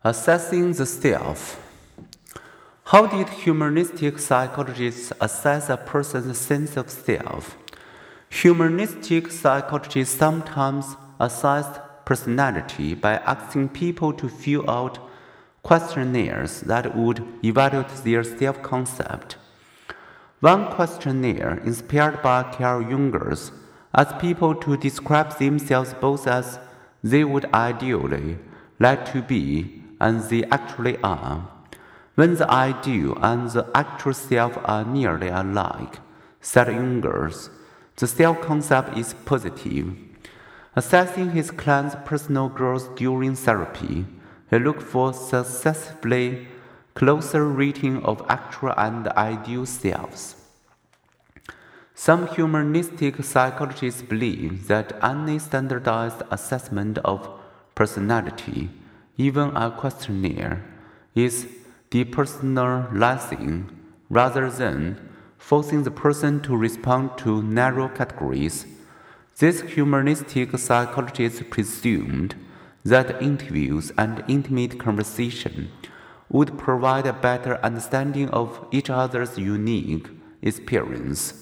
Assessing the self. How did humanistic psychologists assess a person's sense of self? Humanistic psychologists sometimes assessed personality by asking people to fill out questionnaires that would evaluate their self-concept. One questionnaire, inspired by Carl Jung, asked people to describe themselves both as they would ideally like to be and they actually are. When the ideal and the actual self are nearly alike, said Jung, the self-concept is positive. Assessing his client's personal growth during therapy, he looked for successively closer rating of actual and ideal selves. Some humanistic psychologists believe that any standardized assessment of personality, even a questionnaire, is depersonalizing rather than forcing the person to respond to narrow categories. These humanistic psychologists presumed that interviews and intimate conversation would provide a better understanding of each other's unique experience.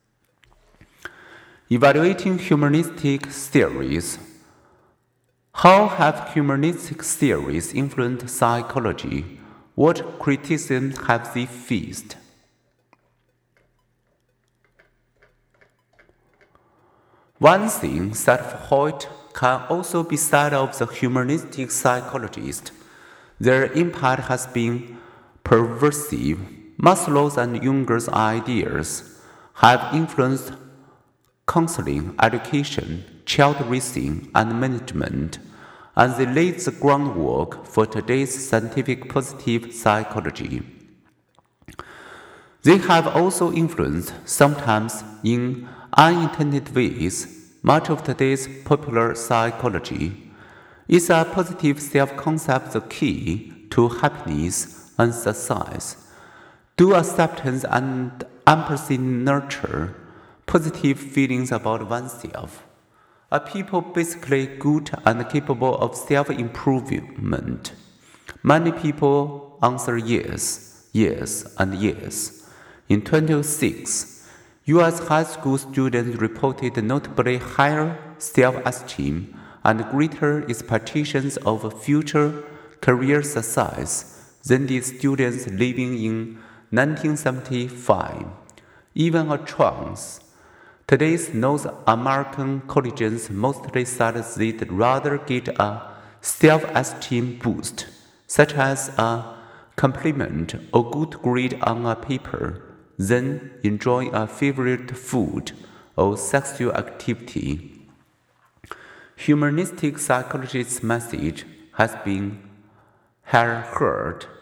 Evaluating humanistic theories. How have humanistic theories influenced psychology? What criticisms have they faced? One thing said of Hoyt can also be said of the humanistic psychologist. Their impact has been pervasive. Maslow's and Jung's ideas have influenced counseling, education, child raising, and management, and they laid the groundwork for today's scientific positive psychology. They have also influenced, sometimes in unintended ways, much of today's popular psychology. Is a positive self-concept the key to happiness and success? Do acceptance and empathy nurture positive feelings about oneself? Are people basically good and capable of self-improvement? Many people answer yes, yes, and yes. In 2006, U.S. high school students reported notably higher self-esteem and greater expectations of future career success than the students living in 1975. Even a chance. Today's North American colleges mostly said they'd rather get a self-esteem boost, such as a compliment or good grade on a paper, than enjoying a favorite food or sexual activity. Humanistic psychology's message has been heard